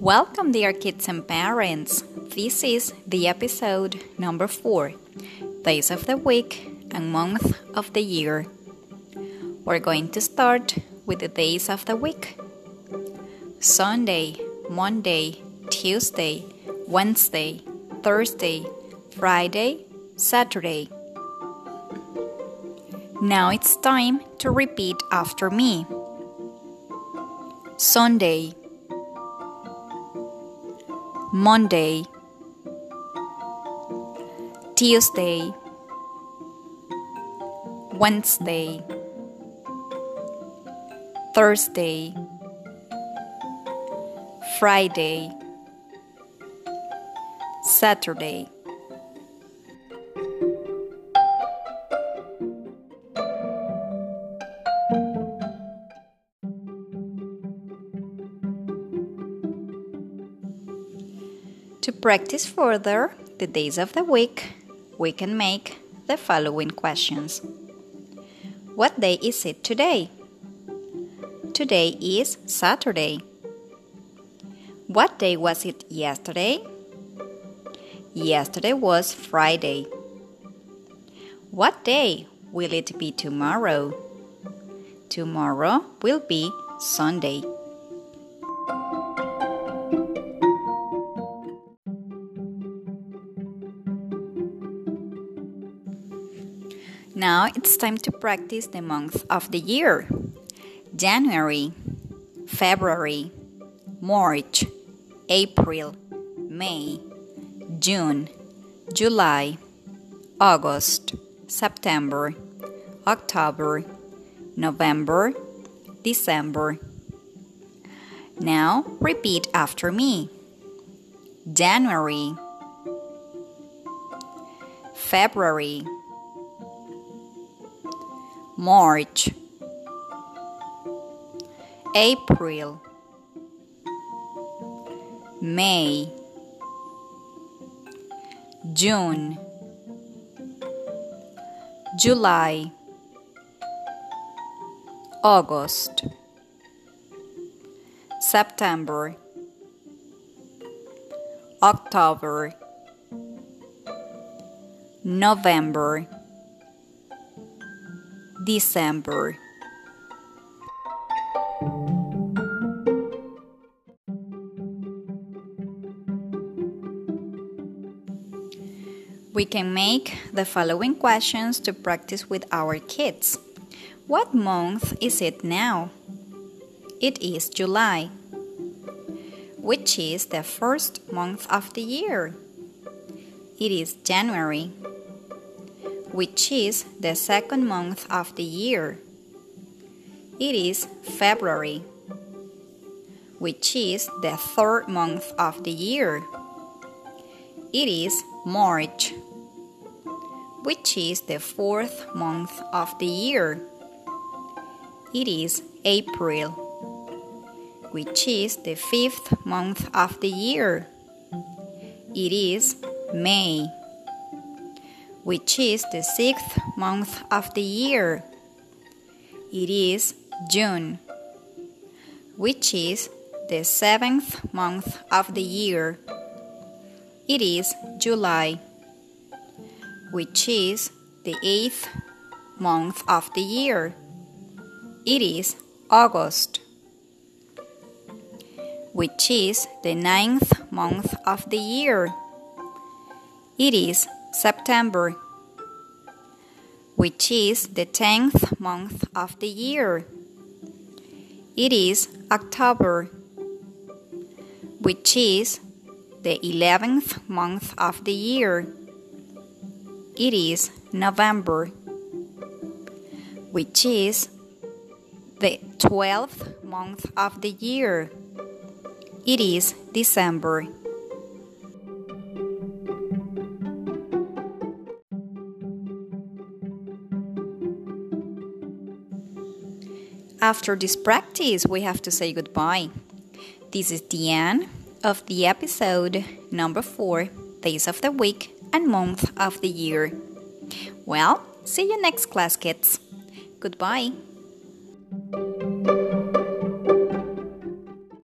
Welcome, dear kids and parents. This is the episode number 4, Days of the Week and Month of the Year. We're going to start with the days of the week. Sunday, Monday, Tuesday, Wednesday, Thursday, Friday, Saturday. Now it's time to repeat after me. Sunday, Monday, Tuesday, Wednesday, Thursday, Friday, Saturday. To practice further the days of the week, we can make the following questions. What day is it today? Today is Saturday. What day was it yesterday? Yesterday was Friday. What day will it be tomorrow? Tomorrow will be Sunday. Now it's time to practice the month of the year. January, February, March, April, May, June, July, August, September, October, November, December. Now repeat after me. January, February, March, April, May, June, July, August, September, October, November, December. We can make the following questions to practice with our kids. What month is it now? It is July. Which is the first month of the year? It is January. Which is the second month of the year? It is February. Which is the third month of the year? It is March. Which is the fourth month of the year? It is April. Which is the fifth month of the year? It is May. Which is the sixth month of the year? It is June. Which is the seventh month of the year? It is July. Which is the eighth month of the year? It is August. Which is the ninth month of the year? It is September. Which is the 10th month of the year? It is October. Which is the 11th month of the year? It is November. Which is the 12th month of the year? It is December. After this practice, we have to say goodbye. This is the end of the episode number 4, Days of the Week and Month of the Year. Well, see you next class, kids. Goodbye.